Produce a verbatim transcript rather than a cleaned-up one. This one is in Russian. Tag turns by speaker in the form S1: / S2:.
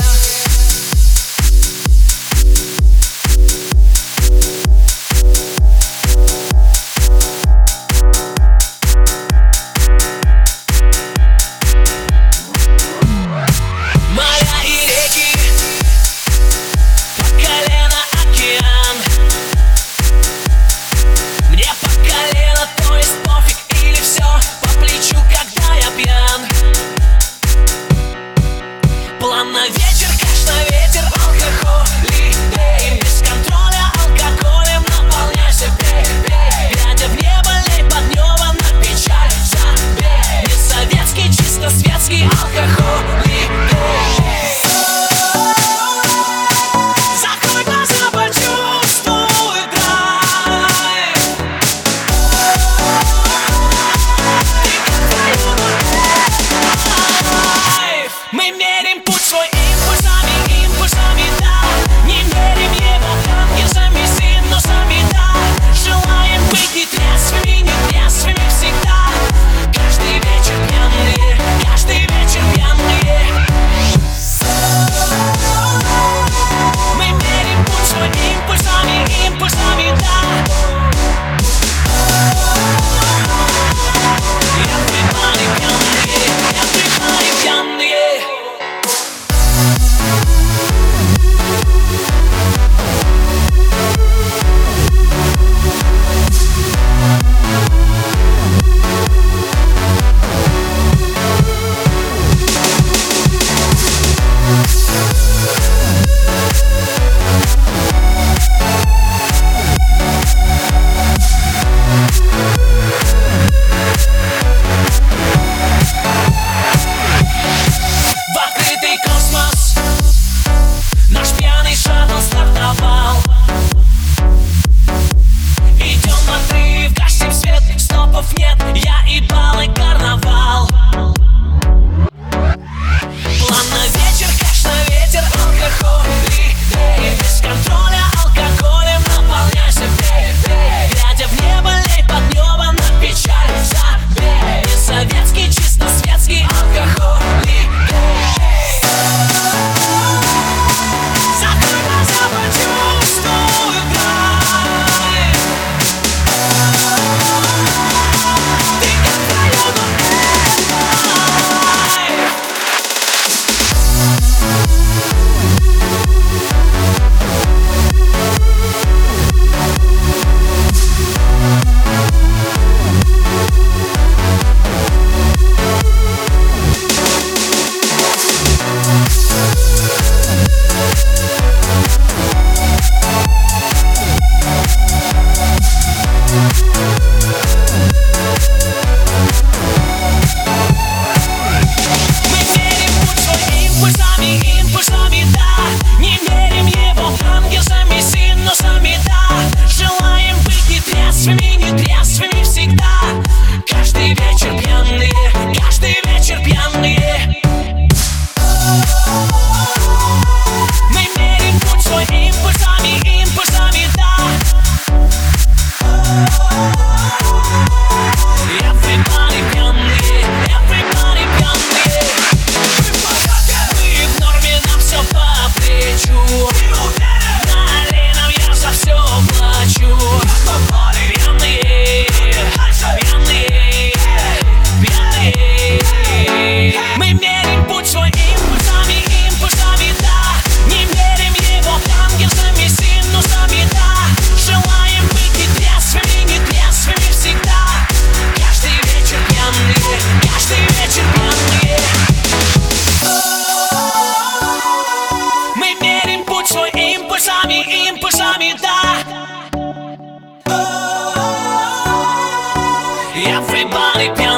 S1: На вечер, каш на ветер, алкоголь, лей, без контроля алкоголем наполняйся, пей, пей. Глядя в небо, лей под небо, на печаль забей. Не советский, чисто светский алкоголь, лей. Закрой глаза, почувствуй драйв. Ты как твою драйв. Мы мерим путь свой импульсами, импульсами, да. Не мерим его гангерсами, синусами, да. Желаем быть не трезвыми, не трезвыми всегда. Каждый вечер пьяные, каждый вечер пьяные. Мы мерим путь свой импульсами, импульсами, да. Everybody пьяные, everybody пьяные. Нет, я и бал, и карнавал. План на вечер, каш на ветер, алкоголь, лей. Без контроля алкоголем наполняйся, пей, пей. Глядя в небо, лей под небо, на печаль забей. Не советский, чисто светский алкоголь, лей. Закрой глаза, почувствуй драйв. Импульсами, да. Не мерим его ангелсами, синусами, да. Желаем быть не трезвыми, не трезвыми всегда. Каждый вечер пьяные, каждый вечер пьяные. Мы мерим путь свой импульсами, импульсами, да. Everybody пьяные, everybody пьяные. По плечу налей нам, я за все плачу. Пьяные, пьяные, пьяные. Мы мерим путь свой импульсами, импульсами, да. Не мерим его ангелсами, синусами, да. Желаем быть не трезвыми, не трезвыми всегда. Каждый вечер пьяные, каждый вечер пьяные. Мы мерим путь свой импульсами, импульсами, да. Everybody